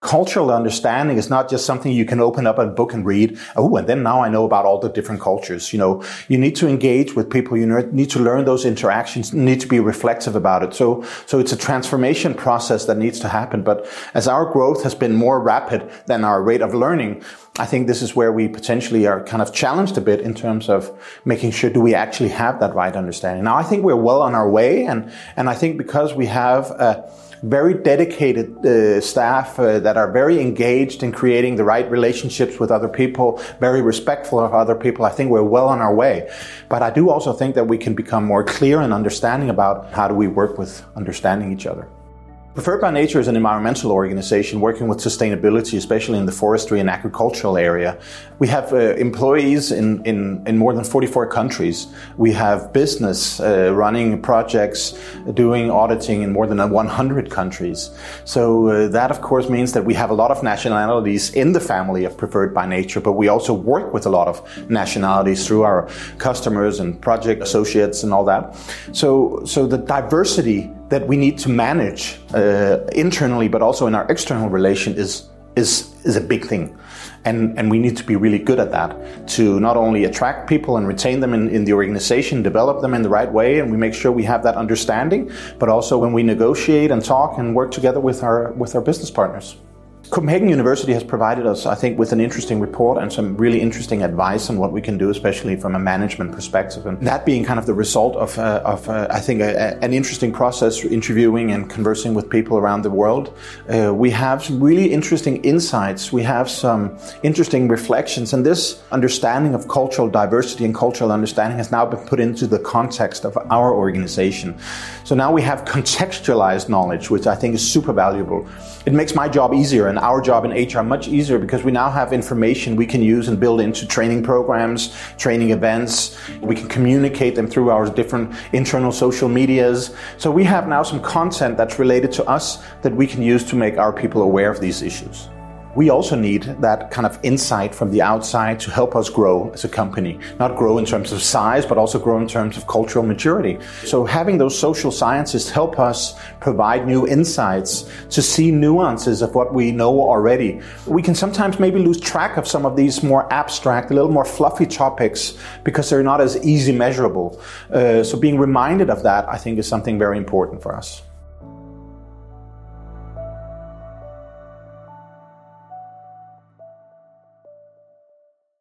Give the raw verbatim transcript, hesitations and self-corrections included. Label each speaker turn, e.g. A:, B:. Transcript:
A: cultural understanding is not just something you can open up a book and read. Oh, and then now I know about all the different cultures. You know, you need to engage with people. You need to learn those interactions. You need to be reflective about it. So, so it's a transformation process that needs to happen. But as our growth has been more rapid than our rate of learning, I think this is where we potentially are kind of challenged a bit in terms of making sure, do we actually have that right understanding? Now, I think we're well on our way. And, and I think because we have a very dedicated uh, staff uh, that are very engaged in creating the right relationships with other people, very respectful of other people, I think we're well on our way. But I do also think that we can become more clear and understanding about how do we work with understanding each other. Preferred by Nature is an environmental organization working with sustainability, especially in the forestry and agricultural area. We have uh, employees in, in, in more than forty-four countries. We have business uh, running projects, doing auditing in more than one hundred countries. So uh, that, of course, means that we have a lot of nationalities in the family of Preferred by Nature, but we also work with a lot of nationalities through our customers and project associates and all that. So, so the diversity that we need to manage uh, internally, but also in our external relation is is is a big thing. And, and we need to be really good at that to not only attract people and retain them in, in the organization, develop them in the right way, and we make sure we have that understanding, but also when we negotiate and talk and work together with our with our business partners. Copenhagen University has provided us, I think, with an interesting report and some really interesting advice on what we can do, especially from a management perspective. And that being kind of the result of, uh, of uh, I think, a, a, an interesting process, interviewing and conversing with people around the world. Uh, we have some really interesting insights. We have some interesting reflections. And this understanding of cultural diversity and cultural understanding has now been put into the context of our organization. So now we have contextualized knowledge, which I think is super valuable. It makes my job easier and our job in H R much easier because we now have information we can use and build into training programs, training events. We can communicate them through our different internal social medias. So we have now some content that's related to us that we can use to make our people aware of these issues. We also need that kind of insight from the outside to help us grow as a company. Not grow in terms of size, but also grow in terms of cultural maturity. So having those social scientists help us provide new insights to see nuances of what we know already. We can sometimes maybe lose track of some of these more abstract, a little more fluffy topics because they're not as easy measurable. Uh, so being reminded of that, I think, is something very important for us.